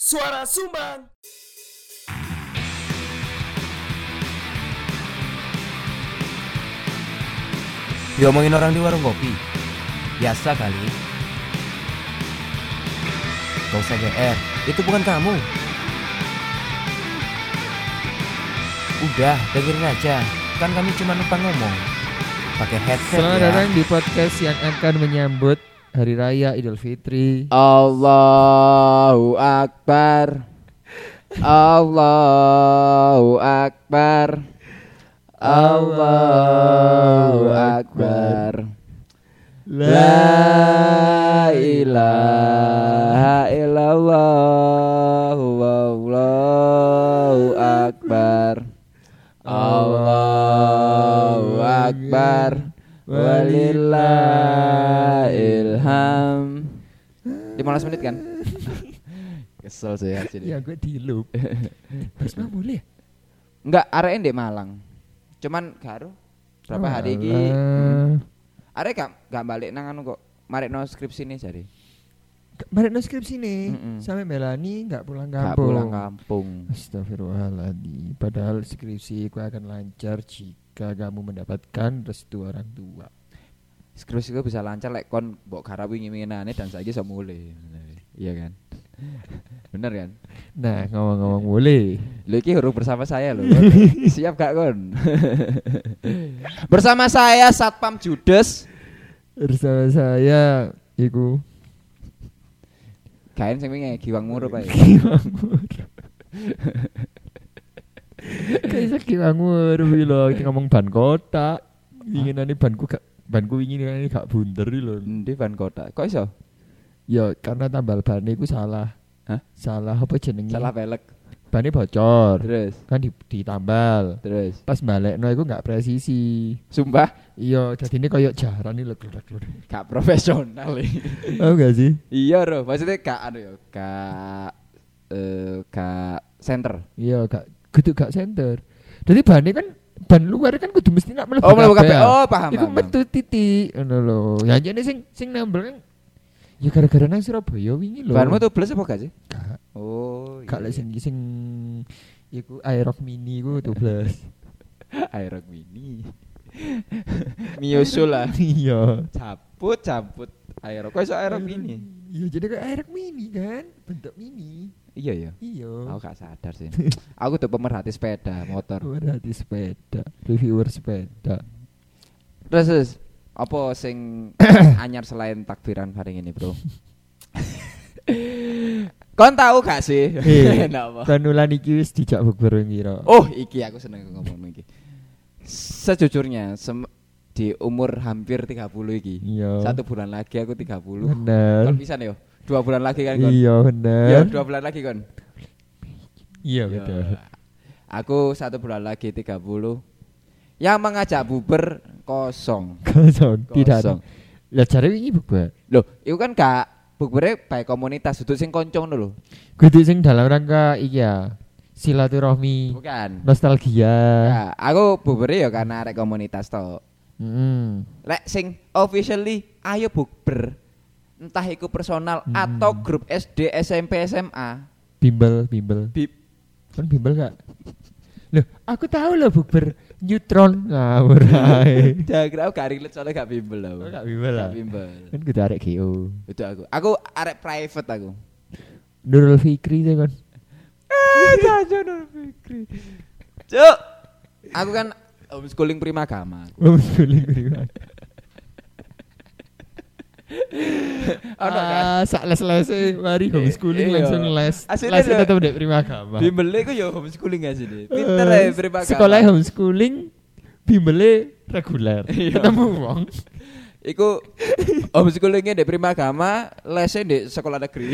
Suara Sumbang. Diomongin orang di warung kopi. Biasa kali. Gak usah GR, itu bukan kamu. Udah, dengerin aja. Kan kami cuma numpang ngomong. Pakai headset. Selamat ya. datang di podcast yang akan menyambut Hari Raya Idul Fitri. Allahu Akbar. Allahu Akbar. Allahu Akbar. La ilaha illallah. Wallahu Akbar. Allahu Akbar. Walillahilham. 15 menit kan? Kesel saya sini. Ya gue di loop. Terus mah boleh. Enggak, arek ndek Malang. Cuman karo berapa hari iki? Arek gak balik nang anu kok. Marekno skripsi nih jadi. Kemarin no skripsi nih. Mm-mm. Sampai Melani gak pulang Gak kampung. pulang kampung. Astagfirullahaladzim. Padahal skripsi ku akan lancar jika kamu mendapatkan restu orang tua. Skripsi gue bisa lancar lek kon mbok garap wingi-winginane dan saiki iso mulai. Iya kan? Bener kan? Nah ngomong-ngomong boleh. Lho iki huruf bersama saya loh. Siap gak kon? Bersama saya Satpam Judes. Bersama saya iku Kain sing wingi giwang murup ae. kayak Kiwangur lho ngomong ban kota. Inginane banku wingi ini gak bunder lho. Endi ban kotak? Kok iso? Ya karena tambal ban iku salah. Hah? Salah apa jenenge? Salah pelek. Bannya bocor. Terus Kan ditambal. terus Pas balekno iku gak presisi. sumpah Iya, jadine koyo jaran iki lho gludek-gludek. gak profesional iki. Oh gak sih? Iya Ro, maksudnya gak anu ya, gak center. Iya, gak center. Jadi bannya kan ban luar kan kudu mesti nak mlebu. Oh, mlebu kabeh. kabeh. Oh, paham. Iku paham. metu titik ngono lho. Ya jane sing nambel kan ya gara-gara nang Surabaya wingi lho. Banmu tuh plus apa gak sih? Gak. Oh, Gak lek sing iku Aerox Mini iku 12. Aerox Mini. Miosul lah. Iya. Cabut Aerox. Kok iso Aerox Mini? Iya, jadi kayak Aerox Mini kan, bentuk mini. Iya ya. Iya. Aku gak sadar sih. Aku tuh pemerhati sepeda motor. Berarti sepeda, reviewer sepeda. Terus apa sing anyar selain takbiran bareng ini, Bro? Kon tahu gak sih? Napa? Panulan iki wis dijak bukber ngira. Oh, iki aku seneng ngomong iki. Sejujurnya di umur hampir 30 iki. Iya. 1 bulan lagi aku 30. Bener. Kon pisan yo. 2 bulan lagi kan kon? Iya Yo, bener. 2 bulan lagi kon. Iya Yo. betul. Aku 1 bulan lagi 30. Yang mengajak buber kosong. Kosong, tidak ada. Kosong. Lah jare wingi bukber. Loh, itu kan gak bukbernya baik komunitas, duduk sing koncong lho. Kudu sing dalam rangka iki ya. Silaturahmi, Bukan. nostalgia. Ya, aku bubernya ya karena arek komunitas to. Lek sing officially ayo bukber. Entah iku personal atau grup SD, SMP, SMA. Bimbel. Kan bimbel gak? Loh, aku tahu loh bukber neutron ngawur ae. Jangan aku gak relate soalnya gak bimbel aku. Oh, gak bimbel lah. Gak bimbel. Kan kudu arek GO. Itu aku. Aku arek private aku. Nurul Fikri sih kan. Jajan Nur Fikri. Cuk. Aku kan homeschooling primagama. Homeschooling prima. Ono kan? Sak les-lese mari homeschooling Iya. langsung les. Aslinya Les lho. tetep ndek primagama. Bimbelnya ku ya homeschooling gak sih? Pinter ya primagama. Sekolah homeschooling bimbele reguler. Iya. Ketemu wong. Iku homeschoolingnya di primagama, lesnya di sekolah negeri.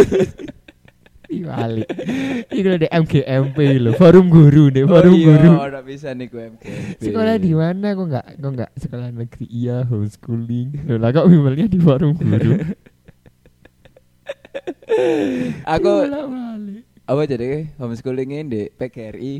Balik. Iku lho ndek MGMP lho, forum guru ndek forum guru. Oh, ora bisa nih gue MKB. Sekolah di mana kok enggak sekolah negeri? Iya, homeschooling. Loh lah kok bimbelnya di forum guru. Aku Bolak-balik. apa jadi homeschoolingnya di PGRI.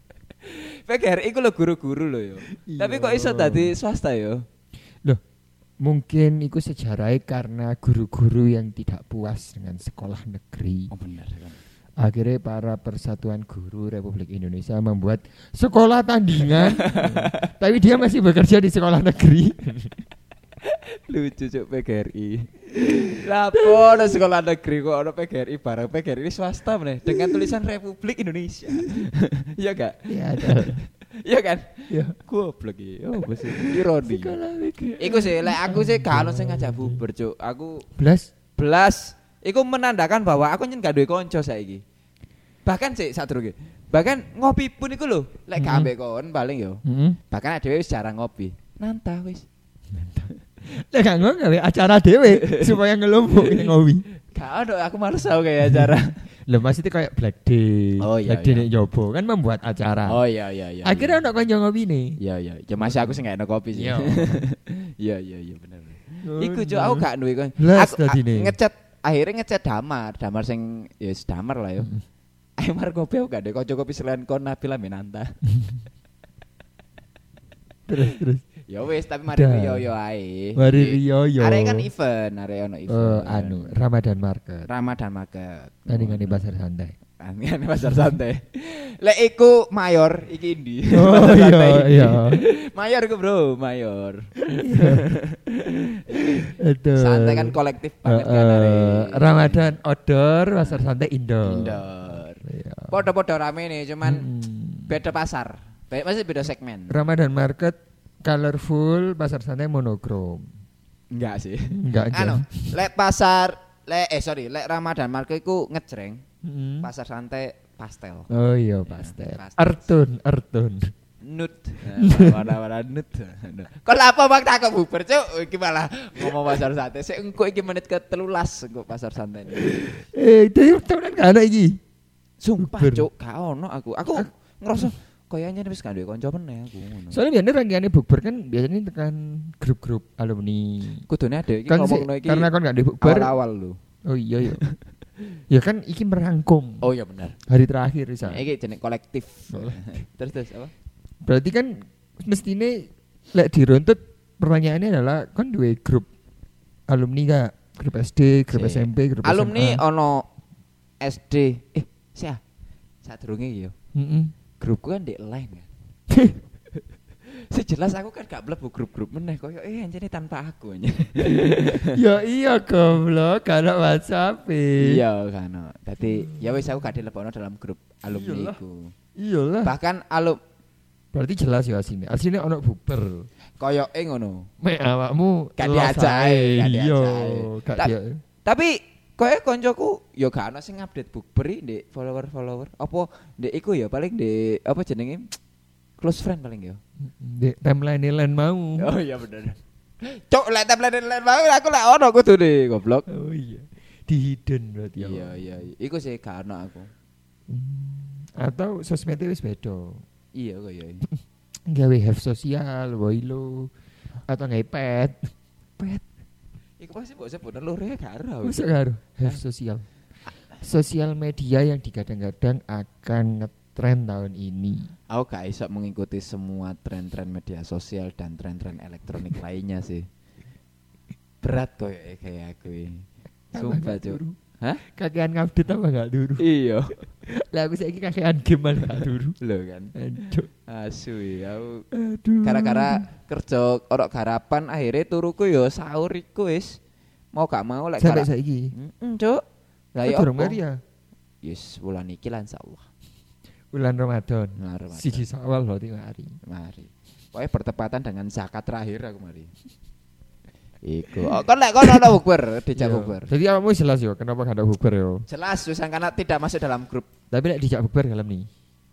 PGRI ku lo guru-guru lo yo. Iya. Tapi kok iso tadi swasta yo? mungkin iku sejarahnya karena guru-guru yang tidak puas dengan sekolah negeri. Oh benar kan. Akhirnya para persatuan guru Republik Indonesia membuat sekolah tandingan. Tapi dia masih bekerja di sekolah negeri. Lucu cuk PGRI. Lapo ada sekolah negeri kok ada PGRI barang PGRI swasta meneh dengan tulisan Republik Indonesia. Iya gak? Iya ada. Iya kan? Iya. Goblok iki. Oh, bos ironi. Iku sih lek aku sih gak ono sing ngajak bubar cuk. Aku belas iku menandakan bahwa aku nyen gak duwe kanca saiki. Bahkan sih sadurunge. Bahkan ngopi pun iku lho, lek gak ambek kon paling yo. Bahkan dhewe wis jarang ngopi. Nantah wis. Lek gak gawe acara dhewe supaya ngelompok ngopi. Gak ada, aku males tau kayak acara. Lah maksudnya kayak Black Day. Oh iya. Black Day nek Jobo kan membuat acara. Oh iya. Akhirnya ono kanca ngopi nih. Iya. Ya masih aku sing gak enak kopi sih. Iya bener. Iku cuk aku gak duwe kon. Aku ngecat akhirnya ngecat Damar sing ya wis Damar lah yo. Ayo mar kopi aku gak ada kanca kopi selain kon Nabila Minanta. Terus. Ya wis tapi mari Rio yo ae. Mari Rio yo. Arek kan event, arek ono event. Ramadan Market. Tandingan di pasar santai. Tandingan di pasar santai. Lek iku mayor iki ndi? Oh iya. Mayor ku bro, mayor. Aduh. Santai kan kolektif banget kan arek. Ramadan outdoor, pasar santai indoor. Iya. Podo-podo rame nih, cuman beda pasar. Masih beda segmen. Ramadan Market colorful, pasar santai monokrom. Enggak sih. Enggak aja. Lek Ramadan Market iku ngejreng. Pasar santai pastel. Oh iya pastel. Earthtone. Nude. Warna-warna nude. Kok apa bang tak bubar cuk? Iki malah ngomong pasar santai. Sik engko iki menit ke-13 engko pasar santai. Dhewe tenan gak ana iki. Sumpah cuk, gak ono aku. Aku ngerasa kayaknya wis gak duwe kanca meneh aku ngono. Soalnya biasanya rangkaiane bukber kan biasanya tekan grup-grup alumni. Kudune ada iki kan ngomongno iki. Karena kon gak duwe bukber awal lho. Oh iya. Ya kan iki merangkum. Oh iya benar. Hari terakhir bisa. Iki jeneng kolektif. Terus apa? Berarti kan mestine lek diruntut pertanyaannya adalah kon duwe grup alumni gak? Grup SD, grup SMP, grup alumni SMA. ono SD. Sadurunge iki yo. Grupku kan di line kan. Sejelas aku kan gak mlebu grup-grup meneh koyo anjene tanpa aku aja. Ya iya goblok, karena WhatsApp. Iya kan. Dadi ya wis aku gak dilebokno dalam grup alumni iku. Iyalah. Bahkan berarti jelas ya asine. Asine ono buber. Koyoke ngono. Mek awakmu gak diajak. Tapi koyo koncoku yo gak ono sing update bukber ndek follower. Apa ndek iku ya paling ndek apa jenenge close friend paling yo. Ndek timeline mau. Oh iya bener. Cok lek timeline mau aku lek ono kudune goblok. Oh iya. Di hidden berarti ya. Iya. Iku sih gak ono aku. Atau sosmednya wis beda. Iya koyo. Gawe have sosial, Woilo atau ngepet. Iku pasti mbok sebut lure karo. Masa karo have sosial. Sosial media yang digadang-gadang akan ngetren tahun ini. Aku gak iso mengikuti semua tren-tren media sosial dan tren-tren elektronik lainnya sih. Berat koyo kayak aku ini. Sumpah cuk. Hah? Kakean ngupdate apa gak dulu? Iya. Lah aku saiki kakean game malah gak dulu. Lho kan. Aduh. Asu ya. Aduh. Gara-gara kerja orok garapan akhirnya turuku yo sahur iku wis mau gak mau lek sampai saiki. Cuk. Lah yo durung mari ya. Yes, bulan iki lah insyaallah. Bulan Ramadan. Siji Syawal berarti mari. Pokoke bertepatan dengan zakat terakhir aku mari. Iku. Kon lek kon ana bukber, dijak bukber. Jadi kamu jelas yo kenapa gak ada bukber yo? Jelas wis karena tidak masuk dalam grup. Tapi lek dijak bukber dalam nih.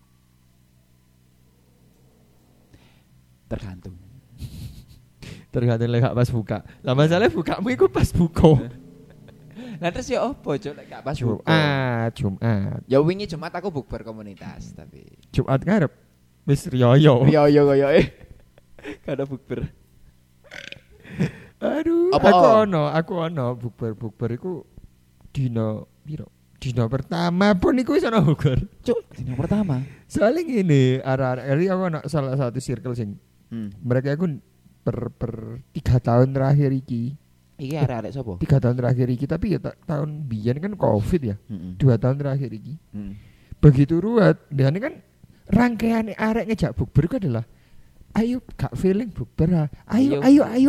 Tergantung lek pas buka. Lah masalahnya bukamu iku pas buka. Lah terus ya opo cuk lek gak pas buka? Jumat. Ya wingi Jumat aku bukber komunitas tapi Jumat ngarep wis riyo. Riyo koyoke. Gak ada bukber. Aduh, aku ono bukber iku dino piro? Dino pertama pun iku wis ono bukber. Cuk, dino pertama. Soalnya ngene, arek-arek aku ono salah satu circle sing mereka iku per 3 tahun terakhir iki. Iki arek-arek sapa? 3 tahun terakhir iki tapi ya tahun biyen kan Covid ya. 2 tahun terakhir iki. Begitu ruwet, dan kan rangkaian arek ngejak bukber itu adalah ayo gak feeling bukber. Ayo.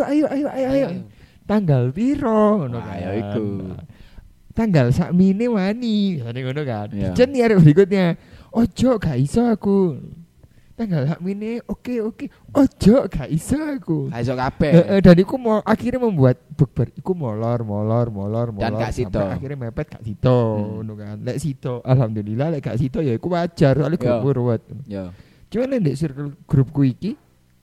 Tanggal piro ngono kan. Ayo iku. Tanggal sakmene wani, ngono kan. Yeah. Jen arek berikutnya, ojo gak iso aku. Tanggal sakmene oke. Ojo gak iso aku. Gak iso kabeh. Dan iku akhirnya membuat bukber iku molor Dan gak sido. akhirnya mepet gak sido ngono kan. Lek sido alhamdulillah, lek gak sido ya iku wajar soalnya grupku ruwet. Yo. Cuman ndek circle grupku iki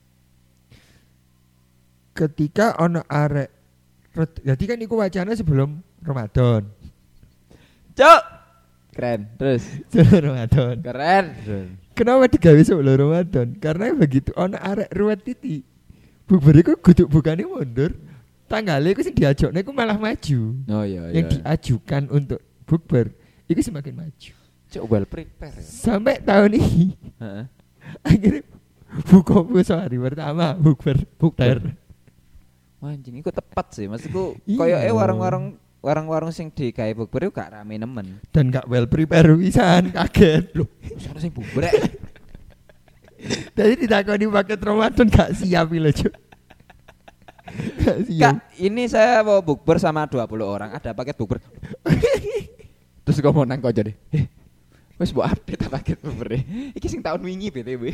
ketika ono arek jadi kan iku wacana sebelum Ramadan. Cuk. Keren. Terus Sebelum Ramadan. keren. Kenapa digawe sebelum Ramadan? Karena begitu ono arek ruwet titi. Bukber iku kudu bukane mundur. Tanggalnya iku sing diajakne iku malah maju. Oh iya. Yang diajukan untuk bukber iku semakin maju. Cuk well prepare ya. Sampai tahun ini Heeh. akhirnya buka puasa hari pertama bukber. Wah, anjing iku tepat sih. Maksudku Iya. koyoke warung-warung sing digawe bukber iku gak rame nemen. Dan gak well prepare pisan, kaget loh. Sono sing bubrek. Tadi ditakoni paket Ramadan gak siap lho, Cuk. Gak siap. Kak, ini saya mau bukber sama 20 orang. Ada paket bukber. Terus gue mau nang kau jadi. Wes buat update paket bukber. Iki sing tahun wingi BTW.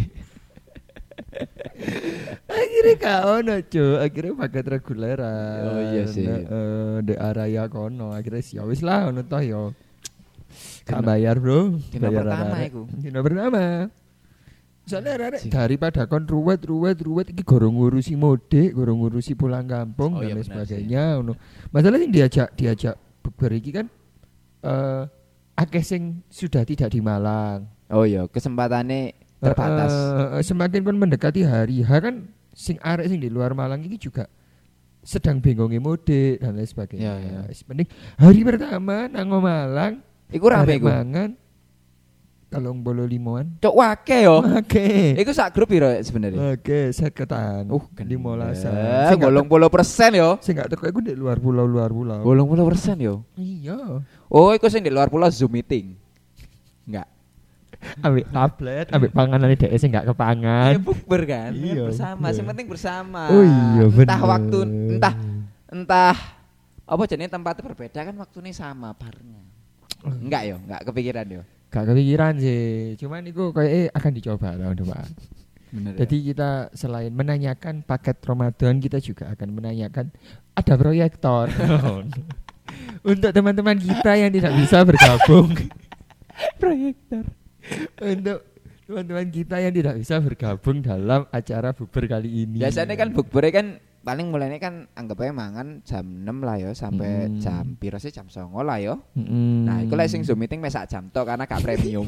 Akhirnya gak ono, Cuk. Akhirnya paket reguleran. Oh iya sih. Di area kono. Akhirnya siap wis lah ono toh yo. Gak Dino- bayar, Bro. dino Bayar pertama arek-arek. iku. Dino pertama. Soalnya arek Sih. daripada kon ruwet iki gorong ngurusi mudik, gorong ngurusi pulang kampung Oh iya, dan lain benar sebagainya ngono. Masalah sing diajak bukber iki kan akeh sing sudah tidak di Malang. Oh iya, kesempatannya terbatas. Semakin kon mendekati hari H kan sing arek sing di luar Malang iki juga sedang bingungnya mudik dan lain sebagainya. Ya, ya. Penting hari pertama nang Malang Iku rame arek iku. mangan 35-an. Cok wake yo. Oke. Iku sak grup piro sebenarnya? Oke, seketan. 15-an. Sing gak 80% yo. sing gak teko iku di luar pulau. 80% yo. Iya. Oh, iku sing di luar pulau Zoom meeting. Enggak. Ambek tablet, ambek panganane dhek sing gak kepangan. Ya bukber kan. Iya, Bersama, bener. sing penting bersama. Oh iya, Entah bener. waktu, entah apa jenenge tempatnya berbeda kan waktunya sama barengan. Enggak yo, enggak kepikiran yo. Gak kepikiran sih. Cuman itu kayak akan dicoba tahun depan. Bener. Jadi kita selain menanyakan paket Ramadan, kita juga akan menanyakan ada proyektor. Untuk teman-teman kita yang tidak bisa bergabung. proyektor. Untuk teman-teman kita yang tidak bisa bergabung dalam acara bukber kali ini. Biasanya kan bukber kan paling mulainya kan anggap aja mangan jam 6 lah yo sampai jam piro sih jam 09.00 lah yo. Nah, iku lek sing Zoom meeting mes sak jam tok karena gak premium.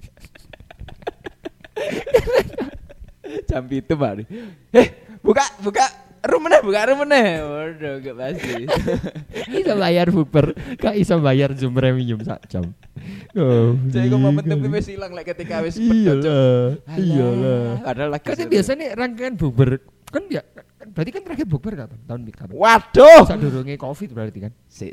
Jam itu baru. Buka room meneh. Waduh, gak pasti. Iso bayar bukber, gak iso bayar Zoom premium sak jam. Oh, Jadi kok momentum wis ilang lek ketika wis pedot. Iyalah. Padahal lagi. Kan biasanya rangkaian bukber kan ya berarti kan terakhir bukber kapan? Tahun kapan? Waduh. Sadurunge Covid berarti kan. Si.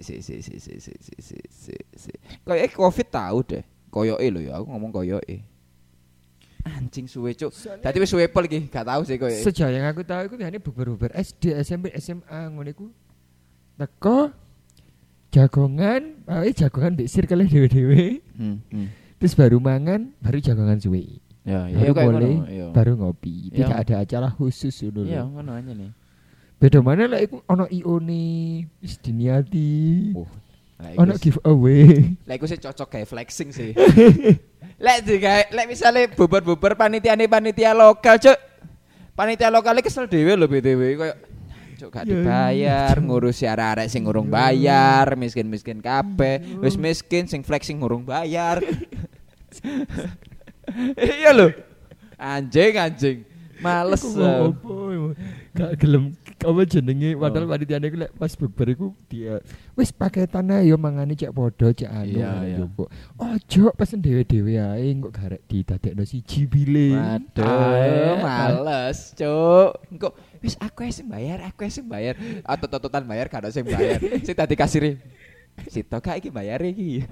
Kayak Covid tahu deh. Koyoke lho ya, aku ngomong koyoke. Anjing suwe cuk. Dadi wis suwe pol iki, gak tahu sih koyoke. Sejak yang aku tahu iku biasanya bukber SD, SMP, SMA ngono iku. Teko jagongan, jagongan mbek circle dhewe-dhewe. Terus baru mangan, baru jagongan suwe. Ya, Baru kayak mulai, ngono, iya. baru ngopi. Iya. Tidak ada acara khusus dulu. Iya, ngono aja nih. Beda mana lah iku ono IO nih, wis diniati. Oh, Ono giveaway. Lek iku sih cocok kayak flexing sih. Lek misale bubar-bubar panitia lokal, Cuk. Panitia lokal kesel dhewe lho BTW koyo cuk gak Ya, dibayar, ngurusi arek-arek sing ngurung bayar, miskin-miskin kabeh, wis miskin sing flexing ngurung bayar. Iya lho. Anjing. Males. Iku ngopo, gak gelem Apa jenenge padahal panitiane iku lek pas bukber iku dia wis paketan ae yo mangane cek padha cek anu yo kok. Ojo pesen dhewe-dhewe ae kok garek didadekno siji bile. Waduh, males, Cuk. Engko wis aku sing bayar. Atot-atotan bayar gak ono sing bayar. Sing tadi kasire. Sito gak iki bayar iki.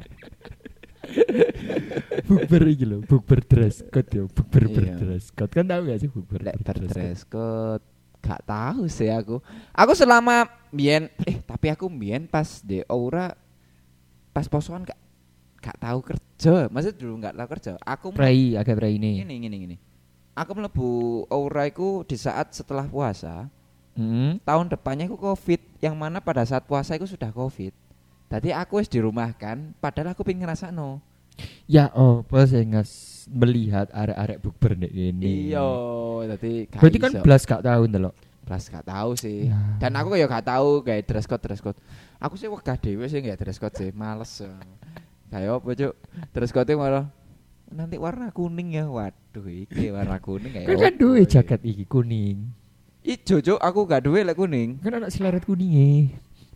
Bukber iki lho, bukber dress code yo, bukber dress code. Kan tahu gak sih bukber dress code? Gak tahu sih aku. Aku selama mbiyen tapi aku mbiyen pas di Aura pas posoan gak tahu kerja. Maksud dulu gak tahu kerja. Aku agak prei ini. Gini. Aku mlebu Aura iku di saat setelah puasa. Tahun depannya aku Covid, yang mana pada saat puasa iku sudah Covid. Tadi aku wis dirumahkan, padahal aku pengen ngrasakno. Ya pas ngas melihat arek-arek bukber nek ngene. Iya, dadi berarti kan blas gak tahu ndelok. Blas gak tahu sih. Ya. Dan aku ya gak tahu kayak dress code. Aku sih wegah dhewe sih gak dress code sih, males. Kayak apa, Cuk? Dress code malah nanti warna kuning ya. Waduh, iki warna kuning kayak. Kan duwe jaket iki kuning. Ijo, Cuk, aku gak duwe lek kuning. Kan ana seleret kuninge.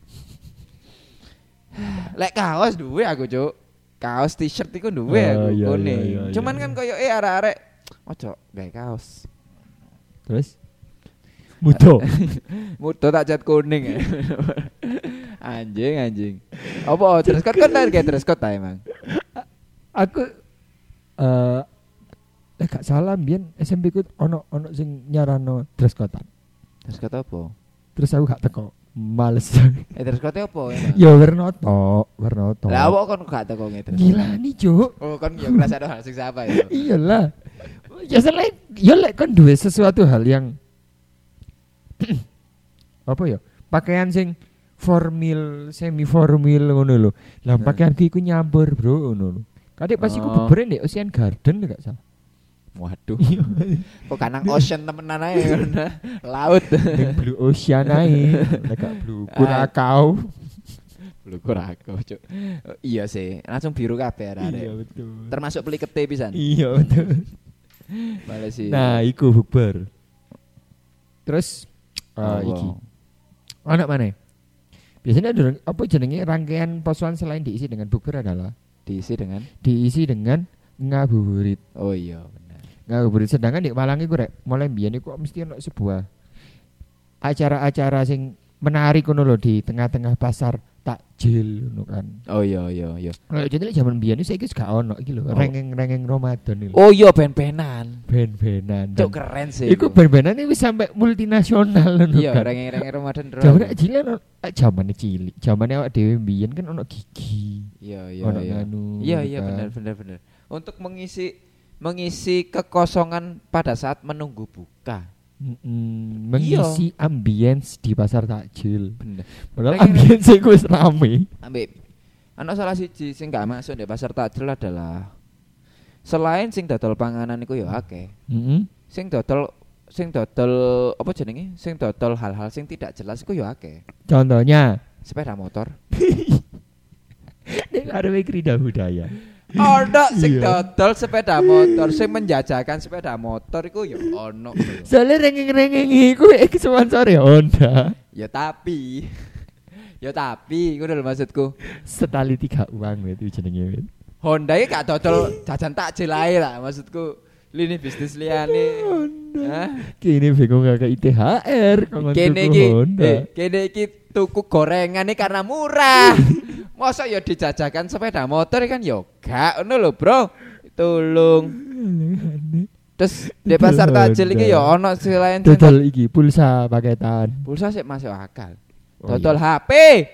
Lek kaos duwe aku, Cuk. Kaos t-shirt iku duwe aku kuning. Cuman kan koyo arek-arek ojo gawe kaos. Terus Mudo tak cat kuning ya. Anjing. Apa dress code kan kayak dress code ta emang? Aku gak salah mbiyen SMP ku ono sing nyarano dress code. Dress code apa? Terus aku gak teko. Males. Dress code apa ya? Ya warna to. Lah awak kon gak teko ngedres. Gila nih, Cuk. Oh, kon yo ngrasakno hal sing apa ya? Iyalah. Ya selain lek kon duwe sesuatu hal yang apa ya? Pakaian sing formal, semi formal ngono lho. Lah pakaian iku nyampur, Bro, ngono lho. Kadek pas iku bubure ndek Ocean Garden gak salah. Waduh. Kok kanang ocean temenan ae ngono. Laut. Ning Blue Ocean ae. Lek Blue Kurakau. Blue Kurakau, Cuk. Iya sih, langsung biru kabeh arek. Iya betul. Termasuk plikete pisan. Iya betul. Bale sih. Nah, iku bukber. Terus iki. Anak mana? Biasanya ada apa jenenge rangkaian posoan selain diisi dengan bukber adalah diisi dengan ngabuburit. Oh iya. Ngabuburit sedangkan di Malang iku rek mulai mbiyen iku mesti ono sebuah acara-acara sing menarik ngono lho di tengah-tengah pasar takjil ngono kan. Oh iya. Kayak jadi zaman mbiyen iki saiki gak ono iki lho, rengeng-rengeng Ramadan iki. Oh iya ben-benan. Cuk keren sih. Iku ben-benan iki wis sampai multinasional ngono kan. Iya, rengeng-rengeng Ramadan. Zaman cilik, zamane awak dhewe mbiyen kan ono gigi. Iya. Iya benar. Untuk mengisi kekosongan pada saat menunggu buka. Mengisi ambience di pasar takjil. Bener. Padahal ambience iku wis rame. Ana salah siji sing gak masuk di pasar takjil adalah selain sing dodol panganan iku ya akeh. Sing dodol apa jenenge? Sing dodol hal-hal sing tidak jelas iku ya akeh. Contohnya sepeda motor. Nek arepe krida budaya. Ono sing dodol sepeda motor, sing menjajakan sepeda motor iku ya ono. Soale rengeng-rengeng iku sponsore Honda. Ya tapi ngono lho maksudku. Setali 3 uang itu jenenge. Honda iki gak dodol jajan takjil ae lah maksudku. Lini bisnis liyane. Hah? Kene bingung gak ITHR kok Honda. Kene iki tuku gorengane karena murah. Masa ya dijajakan sepeda motor kan ya gak ngono lho, Bro. Tolong. Terus di pasar takjil iki ya ono selain dodol iki pulsa paketan. Pulsa sik masuk akal. Dodol HP.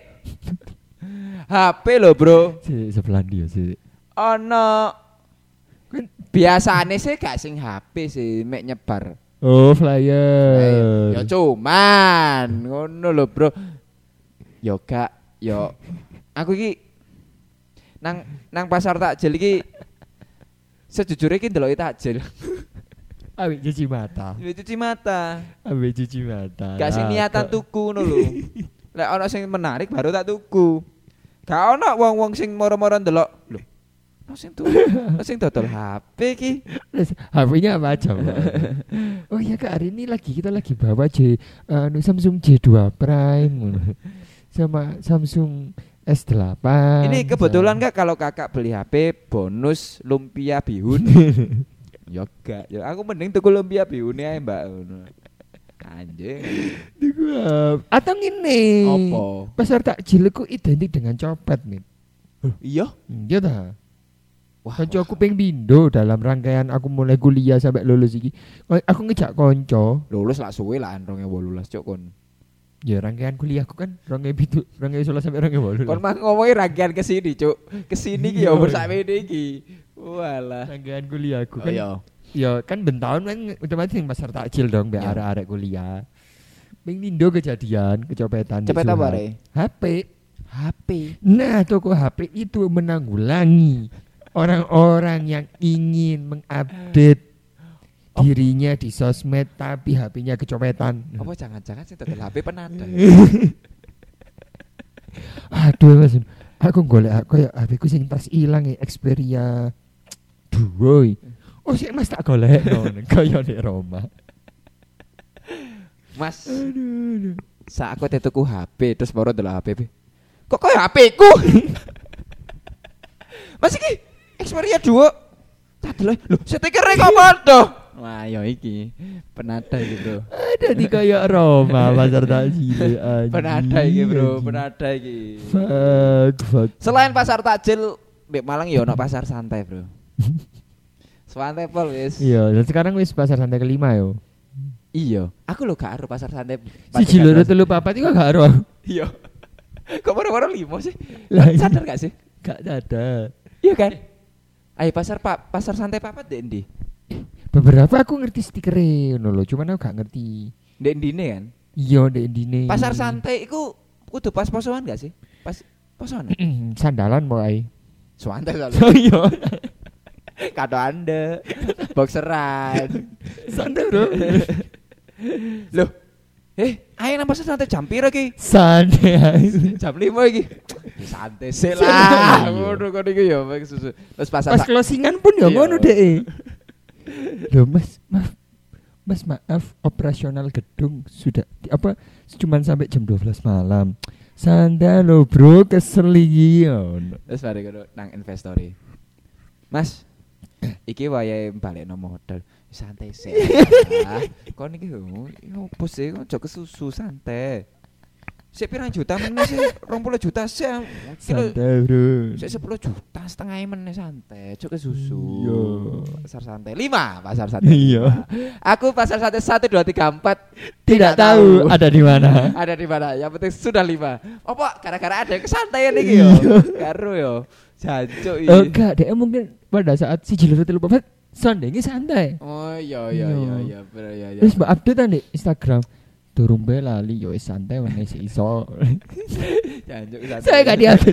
HP lho, Bro. Sebelah dia sih. Ono biasane sih gak sing HP sih mek nyebar. Oh, flyer. Ya cuman ngono lho, Bro. Ya gak ya aku iki nang pasar takjil iki sejujurnya iki ndeloki takjil. Ambek cuci mata. Gak sing niatan tuku ngono lho. Lek ana sing menarik baru tak tuku. Gak ana wong-wong sing moro-moro ndelok. Lho. sing dodol HP iki. HP-nya apa aja, Pak? Oh iya Kak, hari ini kita lagi bawa Samsung J2 Prime sama Samsung S8. Ini kebetulan Kak kalau Kakak beli HP bonus lumpia bihun. Ya gak, ya aku mending tuku lumpia bihune ae, Mbak. Anjing. Atau ngene. Apa? Pasar takjil ku identik dengan copet, Mit. Iya? Iya ta. Wah, Koncoku ping pindho dalam rangkaian aku mulai kuliah sampai lulus iki. Aku ngejak konco. Lulus lak suwe lah 2018 cuk kon. Ya rangkaian kuliahku kan 2007 sampai 2018. Kon mah ngomongi rangkaian ke sini, Cuk. Ke sini ki ya bersakmene iki. Walah. Rangkaian kuliahku kan. Oh, iya. Ya kan bentahun kan otomatis yang pasar takjil dong biar arek-arek kuliah. Ping pindho kejadian kecopetan. Cepet apa re? HP. Nah, toko HP itu menanggulangi orang-orang yang ingin mengupdate dirinya di sosmed tapi HP-nya kecopetan. Apa jangan-jangan sing dodol HP penada? Aduh Mas, aku golek koyo HP-ku sing tas ilang Xperia 2. Oh sik Mas tak golek ngono kaya nek Roma. Mas. Aduh. Saat aku tuku HP terus baru delok HP. Kok koyo HP-ku? Mas iki Xperia 2. Tak delok. Lho, stiker kok padha. Wah, ya iki penada iki, Bro. Ada di kayak Roma pasar takjil. Penada iki, Bro, penada iki. Fuck. Selain pasar takjil di Malang ya ono pasar santai, Bro. Santai pol wis. Iya, dan sekarang wis pasar santai kelima yo. Iya, aku lho gak ero pasar santai. Siji loro telu papat iku gak ero. Iya. Kok baru-baru 5 sih? Sadar gak sih? Gak sadar. Iya kan? Ayo pasar santai papat ndek ndi? Beberapa aku ngerti stikere ngono lho, cuman aku gak ngerti. Ndek ndine kan? Iya, ndek ndine. Pasar santai iku kudu pas posoan gak sih? Pas posoan. Sandalan mulai. Santai soalnya. Oh iya. Kado Anda. Boxeran. Santai, Bro. Loh. Ayo nang pasar santai jam piro iki? Santai. Jam 5 iki. Santai sih lah. Ngono kok iki ya susu. Terus pas closingan pun ya ngono dek. Loh Mas maaf operasional gedung sudah cuman sampai jam 12 malam. Santai lo Bro, kesel iki. Terus mari nang investori. Mas, iki wayahe balekno modal. Santai sih. Kon iki opo sih kok aja kesusu santai. Sik pirang juta meneh sih 20 juta sih. Santai Bro. Sik 10 juta setengah meneh santai. Cuk kesusu. Iya. Pasar santai 5, pasar santai. Iya. Aku pasar santai 1 2 3 4 tidak tahu ada di mana. Ada di mana? Yang penting sudah 5. Apa gara-gara ada kesantaian iki yo. Karo yo. Jancuk iki. Oh enggak, dia mungkin pada saat si Jilur telu papat santai. Oh iya. Bener ya. Terus mbak update di Instagram. Durung be lali yo santai wene si iso. Jancuk santai. Saya enggak diupdate.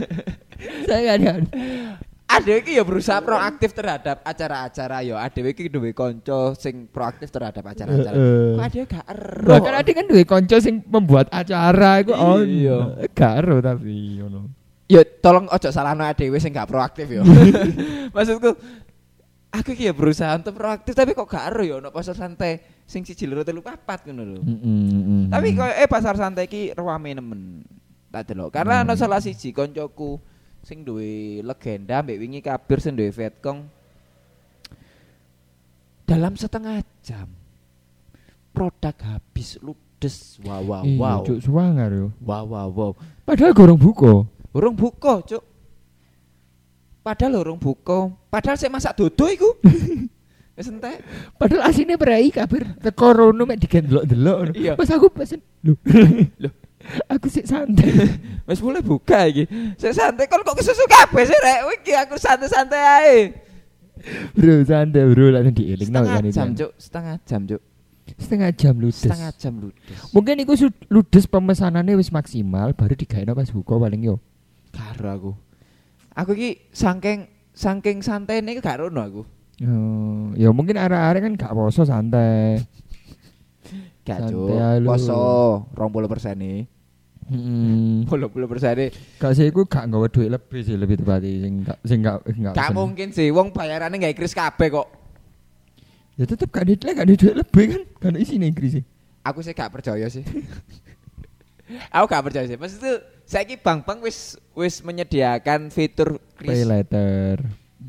Adewe iki ya berusaha proaktif terhadap acara-acara yo. Adewe iki duwe kanca sing proaktif terhadap acara-acara. Kok adewe gak ero. Bahkan adewe kan duwe kanca sing membuat acara iku iya. Gak ero tapi ngono. Ya tolong ojo salahno adewe sing gak proaktif yo. Maksudku aku iki ya berusaha untuk proaktif tapi kok gak ero yo ono pasar santai sing 1 loro 3 4 ngono lho. Tapi koyo pasar santai iki rame nemen. Tak delok. Karena ono salah siji koncoku sing duwe legenda mbek wingi kabir sing duwe Vietcong. Dalam setengah jam produk habis ludes. Wow. Cuk suwangar yo. Wow. Padahal gorong buka. Urung buka, Cuk. Padahal sik masak dodo iku. Wis entek. Padahal asine berai kabir teko rono mek digendelok-delok. Pas aku pesen. Loh. Aku sik santai. Wis mulai buka iki. Sik santai kok kesusu kabeh sih rek. Iki aku santai-santai ae. Bro, santai bro, lek dielingno kan iki. Setengah jam, Cuk. Setengah jam ludes. Mungkin iku ludes pemesanannya wis maksimal baru digaeno pas buka paling yo. Karo aku. Aku iki saking santene iki gak rono aku. Oh, ya mungkin arek-arek kan gak poso santai. Gak Cuk. Poso 20% nih. 80%. Gak sih iku gak nggawa duit lebih sih lebih tepatnya sing gak Gak mungkin sih wong bayarane gak kris kabeh kok. Ya tetep gak ada duit lebih kan. Kan isine kris sih. Aku sih gak percaya sih. Aku gak percaya sih. Maksudnya saiki bank-bank wis menyediakan fitur kris Pay later.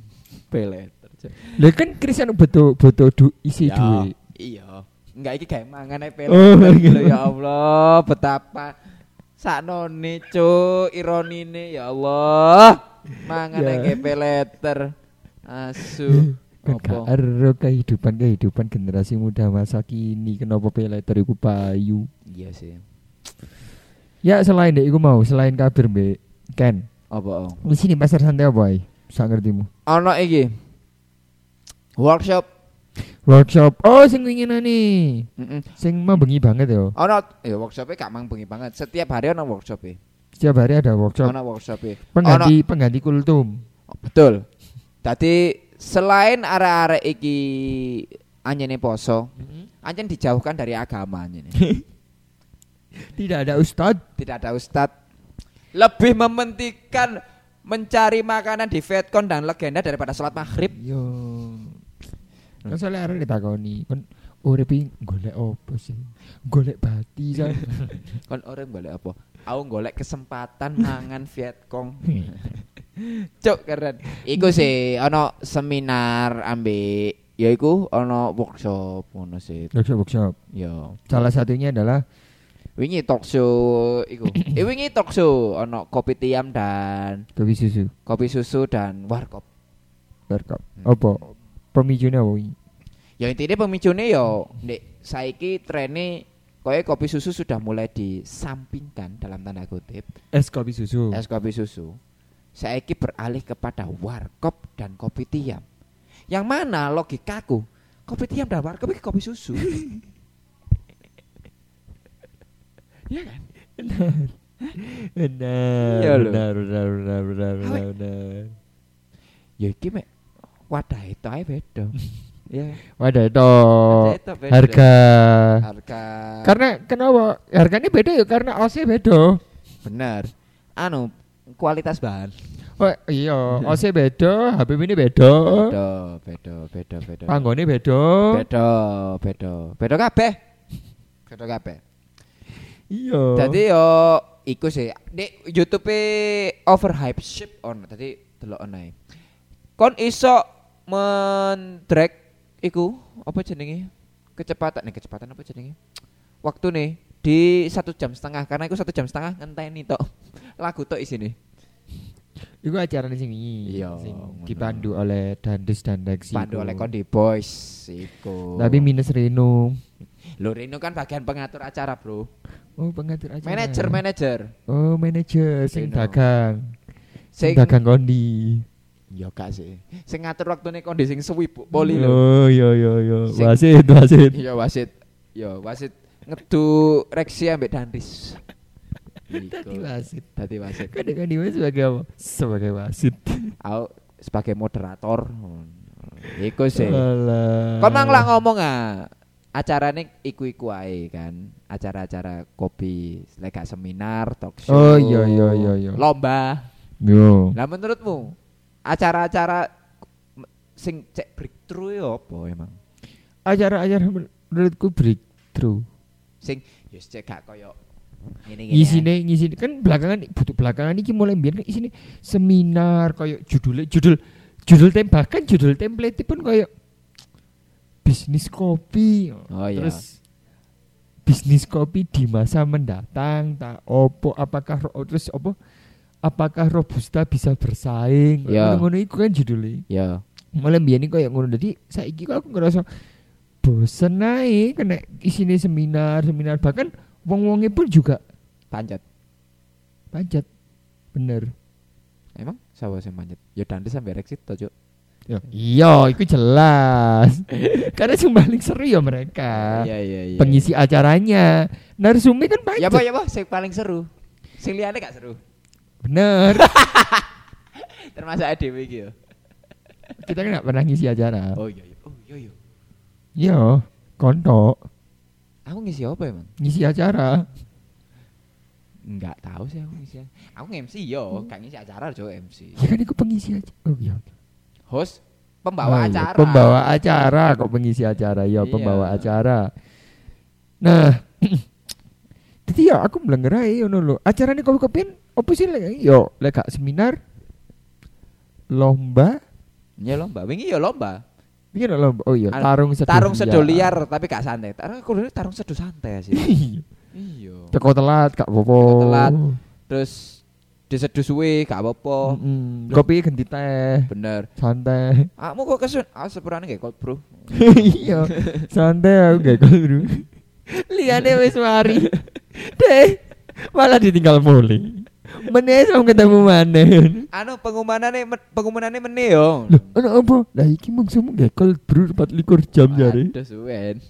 Lah kan kris anu butuh isi duit. Iya. Enggak iki gawe mangan ae pele. Ya Allah, betapa saknone cuk ironine ya Allah. Mangan ae pay letter. Asu. Apa? Karo kehidupan generasi muda masa kini kenapa pay letter iku payu. Iya sih. Ya selain dek iku mau, selain kabir mbek Ken. Apa? Di sini pasar santai apa ae? Sak ngertimu. Ono iki. Workshop. Oh, sing winginane. Sing membengi banget ya. Ono ya workshop-e gak membengi banget. Setiap hari ono workshop-e. Setiap hari ada workshop. Ono workshop-e. Pengganti kultum. Betul. Dadi selain arek-arek iki anjene poso, anjen dijauhkan dari agama anjene. Tidak ada ustad. Lebih mementingkan mencari makanan di Vietcon dan legenda daripada sholat maghrib. Yo. Kan soalnya arek ditakoni, kon urip golek apa sih? Golek bati kan. Kon urip golek apa? Aku golek kesempatan mangan Vietcong. Cuk keren. Iku sih ono seminar ambek ya iku ono workshop ngono sih. Workshop. Ya. Salah satunya adalah wingi talk show iku. Wingi talk show ono kopi tiam dan kopi susu dan warkop. Apa? Pemicunya apa? Ya intinya pemicunya ya nek saiki trene koyo kopi susu sudah mulai disampingkan dalam tanda kutip. Es kopi susu. Saiki beralih kepada warkop dan kopi tiam. Yang mana logikaku kopi tiam dan warkop itu kopi susu. Iya kan? Benar. Ya iki mek wadah itu ae beda. Ya. Wadah itu. Harga. Karena kenapa? Harganya beda ya karena OC beda. Benar. Kualitas bahan. Oh iya, OC beda, HPP ini beda. Beda. Panggone beda. Beda kabeh. Iya. Dadi yo iku sih. Di YouTube-e Overhype Ship on. Tadi delok onae. Kon iso mendrag iku apa jenenge? Kecepatan apa jenenge? Waktu nih di 1,5 jam karena iku 1,5 jam ngenteni tok. Lagu tok isine. Iku acara sing wingi. Iya, sing dipandu oleh Dandes dan Lexi. Pandu oleh Kondi Boys iku. Tapi minus Reno. Lho Reno kan bagian pengatur acara, Bro. Oh, pengatur acara. Manajer. Oh, manajer sing Reno. Sing dagang Kondi. Ya gak sih. Sing ngatur waktune Kondi sing suwi poli lho. Oh, iya. Wasit. Iya, wasit. Ngedu Rexi ambek Danris. Dadi wasit. Kadang sebagai apa? Sebagai wasit. Aku sebagai moderator. Iku sih. Kon mang lak ngomong acarane iku-iku ae kan. Acara-acara kopi, lek seminar, talk show. Oh iya. Lomba. Yo. Lah menurutmu acara-acara sing cek breakthrough ya apa emang? Acara-acara menurutku breakthrough. Sing yo cek gak koyo ngene. Ngisine kan belakangan iki mulai mbiyen kan isine seminar koyo judul template pun koyo bisnis kopi. Oh, terus bisnis kopi di masa mendatang tak opo apakah Robusta bisa bersaing? Ngono iku kan judulnya. Ya. Mulai mbiyen iki koyo ngono. Dadi saiki aku ngerasa bosen ae kena isine seminar bahkan wong-wonge pun juga panjat. Bener. Emang sapa sing panjat? Ya Dandes sampe Rexit to, Cuk. Ya, iya, itu jelas. Karena yang paling seru ya mereka. Iya. Pengisi acaranya. Narsumi kan panjat. Ya apa, sing paling seru. Sing liyane gak seru. Bener. Termasuk ADW iki ya. Kita kan gak pernah ngisi acara. Oh iya. Iya, kontok. Aku ngisi apa emang? Ngisi acara. Enggak tahu sih aku ngisi. Aku nge-MC yo, gak ngisi acara jo MC. Ya kan iku pengisi aja. Oh iya. Host pembawa acara. Pembawa acara kok pengisi acara ya, pembawa acara. Nah, jadi ya aku melenggerai ngono lho. Acarane kopi-kopian opo sih lek yo lek gak seminar lomba. Ya lomba, wingi ya lomba. Wingi lomba. Oh iya, tarung sedo liar tapi gak santai. Tarung sedo santai sih. Iya. Teko telat gak apa-apa. Telat. Terus diseduh suwe gak apa-apa. Kopi ganti teh. Bener. Santai. Kamu kok kesun? Sepurane gak cold brew. Iya. Santai aku gak cold brew. Liane wis mari. Deh. Malah ditinggal mulai. Meneh sama ketemu maneh. Pengumumanane meneh yo. Loh, ana apa? Lah iki mungsumu gak cold brew 24 jam jare. Aduh suwen.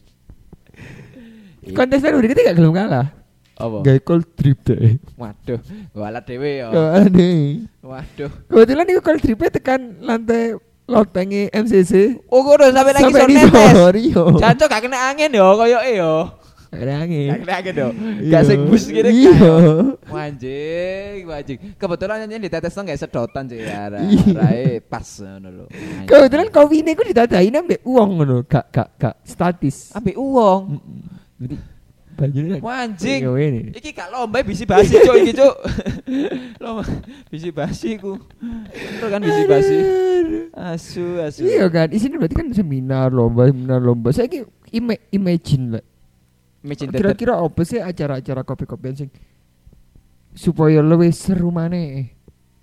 Kontestan udah kita gak gelem kalah. Apa? Gak cold drip deh. Waduh, walat dhewe ya. Waduh. Kebetulan iku cold drip tekan lantai lotenge MCC. Oh, kok udah sampai lagi sampai netes. Jancuk gak kena angin yo, koyoke yo. Gak kena angin. Gak kena angin yo. Gak sing bus gini kan. Wajing. Kebetulan nyanyi ditetes nang gak sedotan sih ya. Rae pas ngono lho. Kebetulan kopine iku ditadain ambek uang ngono, gak statis. Ambek uang. Jadi bajune anjing. Iki gak lomba bisi basi cuk iki cuk. Lomba bisi basi ku. Itu kan bisi basi. Asu. Iya kan, isine berarti kan seminar lomba. Saiki imagine lah. Kira-kira apa sih acara-acara kopi-kopian sing supaya luwih seru maneh.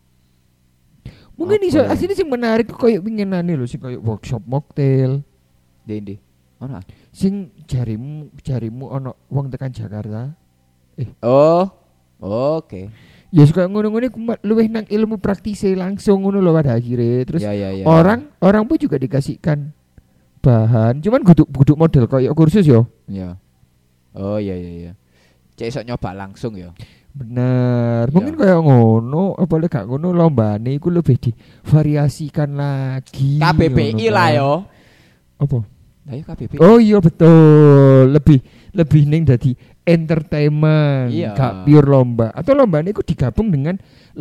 Mungkin iso asline sing menarik koyo winginane lho sing koyo workshop mocktail. Ndi. Ono. Sing jarimu ono wong tekan Jakarta. Oh. Oke. Ya suka ngono-ngono luwih nang ilmu praktise langsung ngono lho pada akhirnya. Terus orang pun juga dikasihkan bahan. Cuman guduk model koyo kursus yo. Iya. Oh iya. Cek iso nyoba langsung yo. Bener. Mungkin kayak ngono, apa lek gak ngono lombane iku lebih divariasikan lagi. KBBI lah yo. Apa? Lah KBBI. Oh iya betul. Lebih ning dadi entertainment, gak pure lomba. Atau lombane iku digabung dengan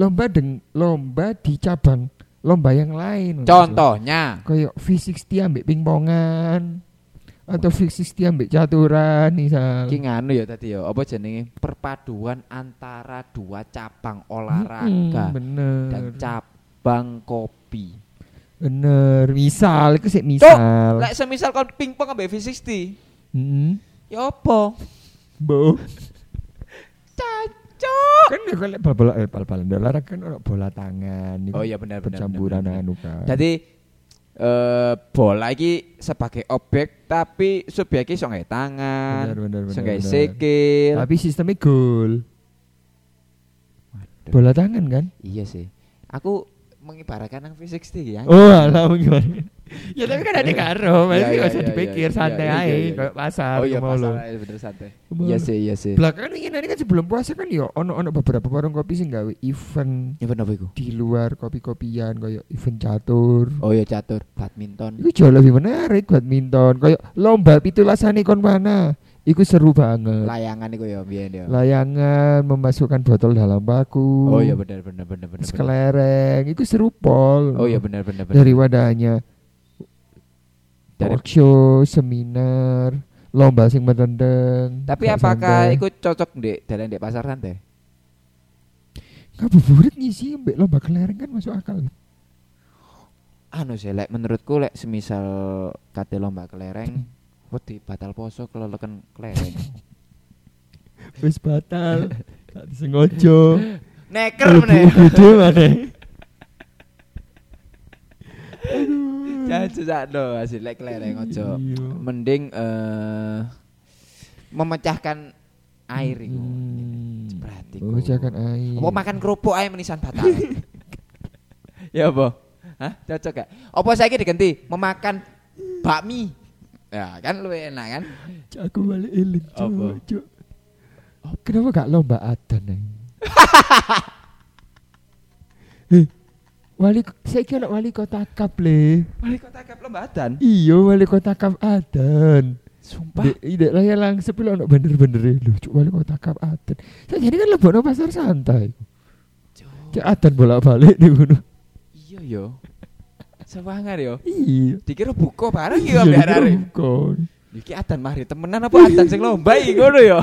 lomba di cabang lomba yang lain. Contohnya kayak V60 ambek pingpongan. Atau V60 ambek caturan misal. Ki nganu ya tadi ya, apa jenenge? Perpaduan antara dua cabang olahraga dan cabang kopi. Bener, misal iku sik misal. Lek semisal kon pingpong ambek V60. Ya apa? Bo. Cacok. Kan lek bal-balan olahraga kan ono bola tangan. Oh iya benar. Campuran anu kan. Jadi bola iki sebagai objek tapi subjeknya iso nggae tangan, iso nggae sikil. Tapi sistemnya gol. Bola tangan kan? Iya sih. Aku mengibaratkan nang V60 ya. Oh, alah mengibaratkan. Ya tapi kan ada karo, masih enggak usah dipikir santai ae kayak pasar. Oh iya pasar ae bener santai. Iya sih. Belakangan ini kan sebelum puasa kan yo ono beberapa warung kopi sing gawe event. Event apa iku? Di luar kopi-kopian kayak event catur. Oh iya catur, badminton. Iku jauh lebih menarik badminton, kayak lomba pitulasane kon mana. Iku seru banget. Layangan iku ya biyen ya. Layangan memasukkan botol dalam baku. Oh iya benar. Kelereng, iku seru pol. Oh iya benar. Dari wadahnya. Workshop, seminar, lomba sing merendeng. Tapi apakah iku cocok ndek dalan ndek pasar santai? Ngabuburit ngisi mbek lomba kelereng kan masuk akal. Anu sih lek menurutku lek semisal kate lomba kelereng wedi batal poso keleleken kelereng. Wis batal. Tak disengaja. Neker meneh. Gede maneh. Jangan sakno hasil lek kelereng aja. Mending memecahkan air iku. Berarti kok. Memecahkan air. Apa makan kerupuk ae menisan batal. Ya apa? Hah? Cocok gak? Apa saiki diganti memakan bakmi? Ya kan luwih enak kan? Aku balik eling. Cuk. Kenapa gak lomba adan ae? Saiki ono wali kota Kap le. Wali kota Kap lomba adan? Iya, wali kota Kap adan. Sumpah. Ide lah ya langsep lho ono bener-bener lho cuk wali kota Kap Aten. Sajane kan lebono pasar santai. Cuk Aten bolak-balik di ngono. Iya yo. Sewangar yo. Iya. Dikira buka bareng yo ambek arek. Buka. Iki Adan mari temenan apa Adan sing lomba iki ngono yo.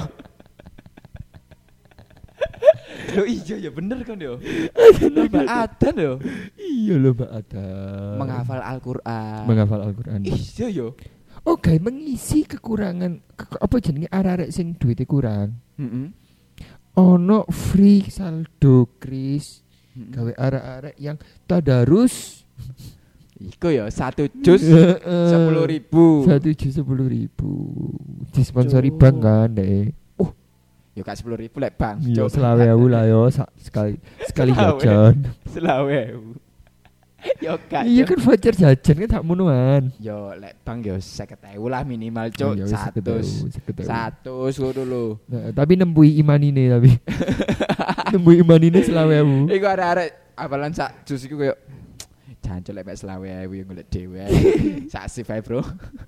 Lho iya ya bener kan yo. Lomba Adan yo. Iya lomba Adan. Menghafal Al-Qur'an. Iya yo. Oke, mengisi kekurangan apa jenenge arek-arek sing duite kurang. Ono free saldo kris gawe arek-arek yang tadarus. Iku ya 1 juz 10.000. 1 juz 10.000. Disponsori bank kan deh. Ya gak 10.000 lek bang. Ya 20.000 lah yo sekali jajan. 20.000. Yo gak. Iya kan voucher jajan kan tak munuan. Yo lek bang yo 50.000 lah minimal cuk. 100 ngono lho. Nah, tapi nembui imanine tapi. Nembui imanine 20.000. Iku arek-arek apalan sak jus iku koyo jancuk lek 20.000 yo golek dhewe. Sak sip ae, Bro.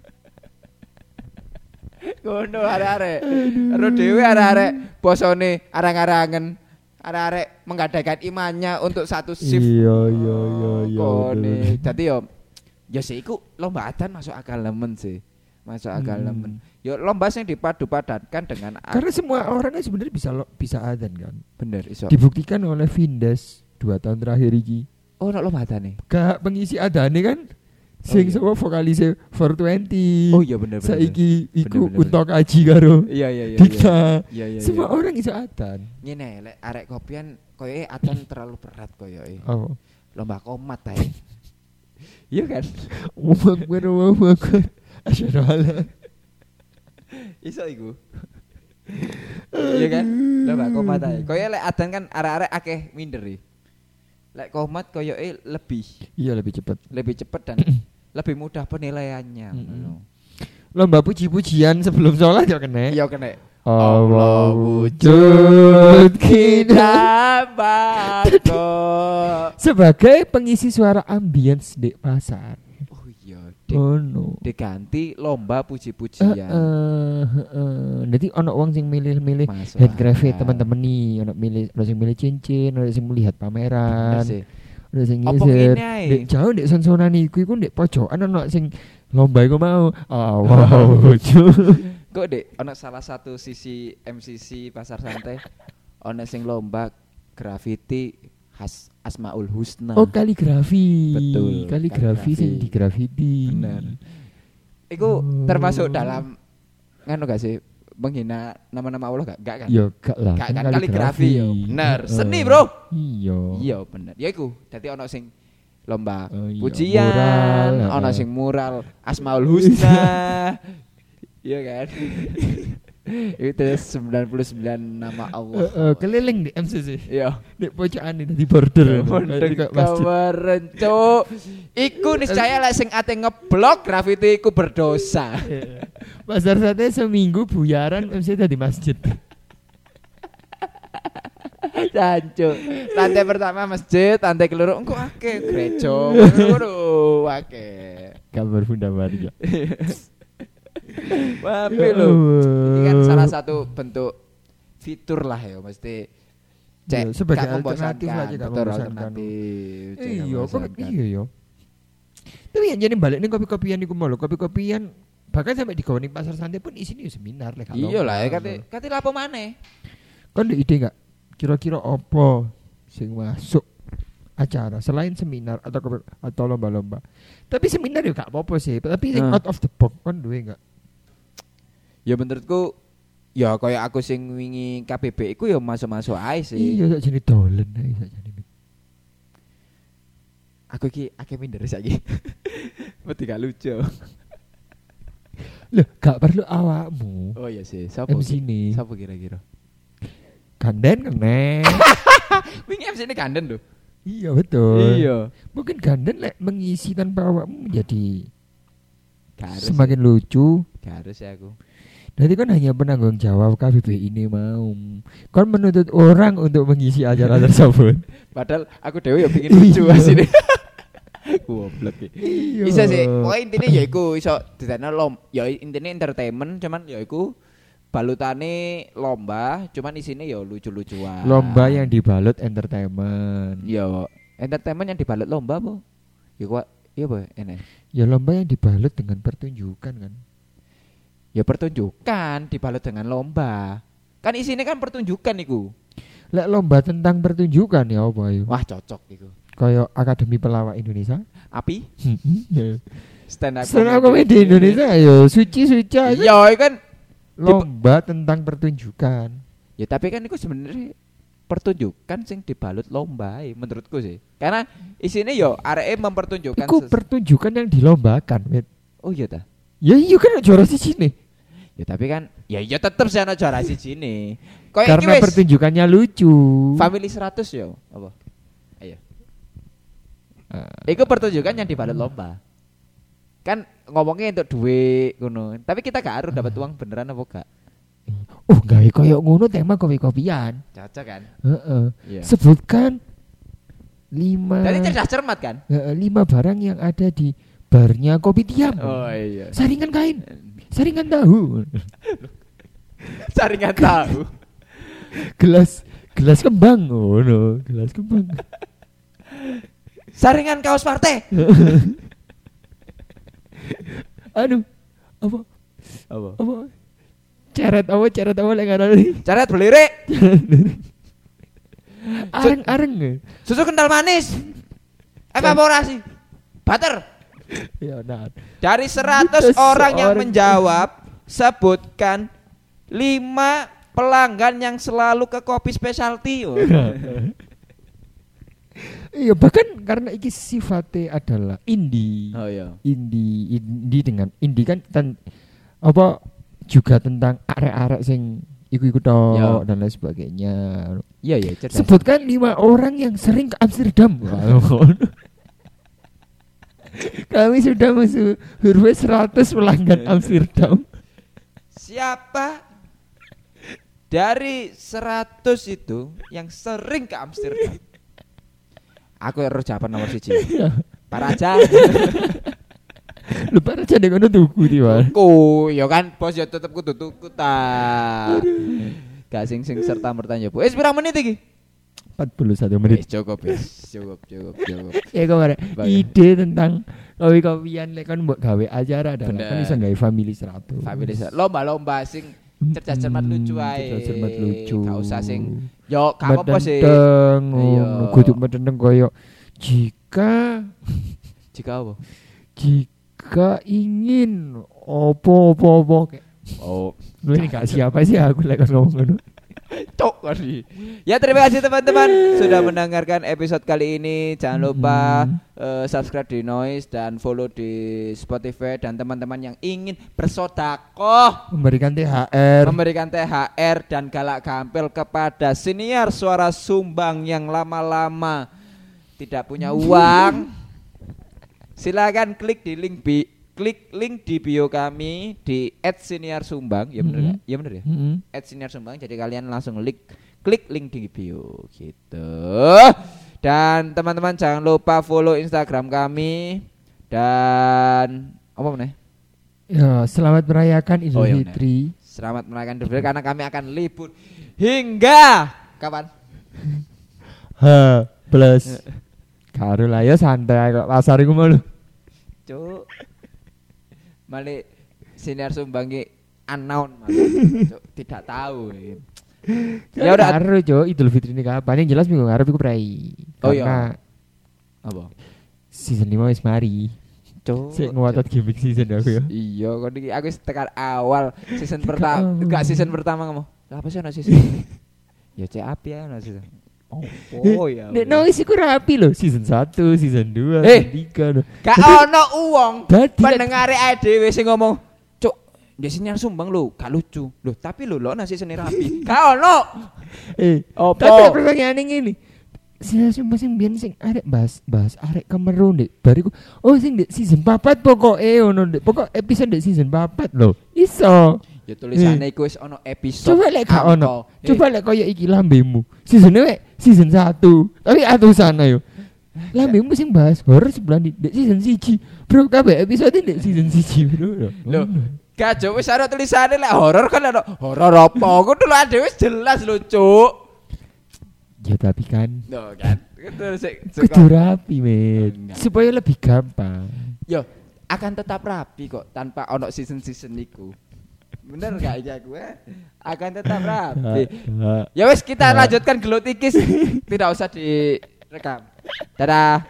Ngono arek-arek. Ero dhewe arek-arek bosone arang-arangen. Arek-arek menggadaikan imannya untuk satu shift. Iya. Kone. Dadi yo sik iku lomba adan masuk akal lemen sih. Masuk akal lemen. Yo lomba sing dipadu-padankan dengan karena semua orang kan sebenarnya bisa adan kan. Bener iso. Dibuktikan oleh Vindes 2 tahun terakhir iki. Oh, nek lomba adane. Gak pengisi adane kan sing sapa vokalise 420. Oh iya bener. Saiki iku Untok Aji karo. Iya. Dika. Iya. Semua orang iso adan. Ngene lek arek kopian koyoke adan terlalu berat koyoke. Oh. Lomba komat ae. Iya kan? Ngomong asyhadu iso iku. Iya kan? Lomba komat ae. Koyoke lek adan kan arek-arek akeh minder iki. Lek komat koyoke lebih. Iya lebih cepat dan lebih mudah penilaiannya. Lomba puji-pujian sebelum sholat ya kena. Iya kena. Allah wujud kita bako. Sebagai pengisi suara ambience di pasar. Oh iya. No. Diganti lomba puji-pujian. Jadi ono wong sing milih-milih handcraft teman-teman nih, ono sing milih cincin, ono sing melihat pameran. Ono sing ngisir. Dek jauh dek sonsonan iku ndek pojokan ono sing lomba iku mau. Wow. Kok dek ono salah satu sisi MCC Pasar Santai ono sing lomba graffiti khas Asmaul Husna. Oh kaligrafi. Betul. Kaligrafi sing di graffiti. Bener. Iku termasuk dalam nganu gak sih menghina nama-nama Allah gak kan? Ya gak lah. Gak kan kaligrafi yo. Bener. Seni, Bro. Iya bener. Ya iku. Dadi ono sing lomba pujian, mural, ono sing mural Asmaul Husna. Iya kan? Itu 99 nama Allah. Keliling di MCC. Iya. Di pojokan di border. Kemarin cuk. Iku niscaya lek sing ate ngeblok graffiti iku berdosa. Pasar Santai seminggu buyaran MC di masjid. Jancuk. Lantai pertama masjid, lantai keloro engko akeh gereja. Ngono akeh. Gambar Bunda Maria. Wapi lho. Ini kan salah satu bentuk fitur lah ya mesti cek sebagai alternatif aja kan alternatif. Iya yo. Tapi yang jadi balik nih kopi-kopian iku mau lho, kopi-kopian bahkan sampai di Gowning Pasar Santai pun isine yo seminar lek. Iya lah kate lapo maneh. Kon ndek ide enggak? Kira-kira apa sing masuk acara selain seminar atau lomba-lomba. Tapi seminar yo gak apa-apa sih, tapi out of the box kan duwe enggak? Ya menurutku ya kayak aku sing wingi KBB iku ya masuk-masuk ae sih. Iya sak jane dolen ae sak jane. Aku iki akeh minder saiki. Mesti gak lucu. Loh, gak perlu awakmu. Oh iya sih, sapa MC Sapa kira-kira? Ganden kene. Wingi MC ini ganden lho. Iya betul. Iya. Mungkin ganden lek mengisi tanpa awakmu menjadi semakin lucu. Gak harus ya aku. Jadi kan hanya penanggung jawab KBB ini mau. Kan menuntut orang untuk mengisi acara tersebut. Padahal aku dewe ya pengin lucu asine. Goblok iki. Iya. Bisa sih, pokoke intine ya iku iso didadekno ya intine entertainment cuman ya iku balutane lomba cuman isine ya lucu-lucuan. Lomba yang dibalut entertainment. Ya, entertainment yang dibalut lomba apa? Ya kok iya apa ini? Ya lomba yang dibalut dengan pertunjukan kan. Ya pertunjukan dibalut dengan lomba. Kan isine kan pertunjukan iku. Lek lomba tentang pertunjukan ya apa ayo? Wah, cocok iku. Kayak Akademi Pelawak Indonesia. Api? Stand up comedy Indonesia ayo suci-suci aja. Ya kan Lomba tentang pertunjukan. ya tapi kan iku sebenarnya pertunjukan sing dibalut lomba menurutku sih. Karena isine yo areke mempertunjukkan Iku pertunjukan yang dilombakan, Wit. Oh iya ta. Ya iya kan juara siji nih. Ya tapi kan ya tetep sih ana juara siji nih. Karena pertunjukannya lucu. Family 100 yo apa? Ayo. Iku pertunjukan yang dibalut lomba. Kan ngomongnya untuk duit ngono. Tapi kita gak harus dapat uang beneran apa gak? Gawe koyo ngono tema kopi-kopian. Cocok kan? Heeh. Iya. Sebutkan 5. Jadi cerdas cermat kan? 5 barang yang ada di barnya Kopi Tiam. Oh iya. Saringan kain, saringan tahu. Saringan tahu. gelas kembang. Oh no, gelas kembang. Saringan kaos partai. Aduh, apa? Apa? Ceret apa lek ngarani? Ceret belirik. Areng. Susu kental manis. Evaporasi. Butter. Ya, nah. Dari 100 orang yang menjawab, sebutkan 5 pelanggan yang selalu ke kopi specialty. Iya, bahkan karena iki sifatnya adalah indie. Oh iya. Indie dengan indie kan apa juga tentang arek-arek sing iku-iku tok dan lain sebagainya. Iya, cerdas. Sebutkan 5 orang yang sering ke Amsterdam. Kami sudah masuk survei 100 pelanggan Amsterdam. Siapa dari 100 itu yang sering ke Amsterdam? Aku harus jawaban nomor 1. Pak Raja. Lupa Raja nek ngono tuku tiba. Ya kan bos ya tetep kudu tuku ta. Gak sing serta merta nyoba. Pirang menit iki? 41 menit. Cukup. Ya kemarin ide tentang kopi-kopian lek kan mbok gawe acara dan kan iso gawe family 100. Family lomba-lomba sing cerdas cermat lucu ae. Cerdas cermat lucu. Gak usah sing yo gak apa-apa sih. Kudu medendeng koyo jika apa? Jika ingin opo-opo kayak. Oh, lu ini gak siapa sih aku lek ngomong ngono. Cok kali. Ya terima kasih teman-teman sudah mendengarkan episode kali ini. Jangan lupa subscribe di Noise dan follow di Spotify. Dan teman-teman yang ingin bersodakoh memberikan THR dan galak gampil kepada siniar suara sumbang yang lama-lama tidak punya uang, silakan klik link di bio kami di @siniarsumbang. Ya bener ya? Ya bener ya? @siniarsumbang. Jadi kalian langsung klik link di bio gitu. Dan teman-teman jangan lupa follow Instagram kami dan apa meneh? Ya, selamat merayakan Idul Fitri. Selamat merayakan Idul Fitri karena kami akan libur hingga kapan? Plus. Karo lah ya santai kok pasar iku mau lho. Cuk. Malik siniar sumbangi unknown malah. Tidak tahu. Ya udah karo Cuk, Idul Fitri ini kapan? Yang jelas minggu ngarep iku prei. Oh iya. Apa? Season 5 wis mari. Cuk. Sik ngotot gimmick season aku ya. Iya, kok iki aku tekan awal season pertama. Enggak season pertama ngomong. Apa sih ana season? Ya cek api ya ana season. Oh ya. Nek Noise iku rapi lho, season 1, season 2, season 3. Gak ono uang. Pendengare ae dhewe sing ngomong, "Cuk, dia siniar sumbang lho, gak lucu." Loh, tapi lho nasi seni rapi. Gak ono. Tapi pertanyaan ngene. Siniar sumbang sing biyen sing arek bahas arek Kemeru ndek bariku. Oh sing ndek season 4 pokoke ono ndek. Pokok episode ndek season 4 lho. Iso. Ya tulisane iku wis ono episode. Coba lek gak ono. Coba lek koyo iki lambemu. Season 1 tapi atusan ayo. Lah mbekmu sing bahas horor sebelah di season 1. Bro, kabeh episode di season 1, bro. Lho, gak jo wis ana tulisane lek horor kan ana horor apa? Kudu lho ade wis jelas lho, Cuk. Ya tapi kan. Loh kan. Kudu rapi, men. Supaya lebih gampang. Yo, akan tetap rapi kok tanpa ono season-season niku. Bener gak ya gue? Akan tetap rapi. Ya wes kita lanjutkan gelut ikis. Tidak usah direkam. Dadah.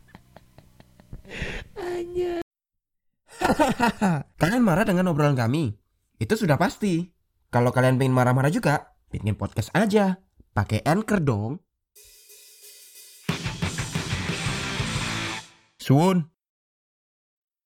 Kalian marah dengan obrolan kami? Itu sudah pasti. Kalau kalian pengen marah-marah juga, bikin podcast aja. Pakai Anchor dong. Suun.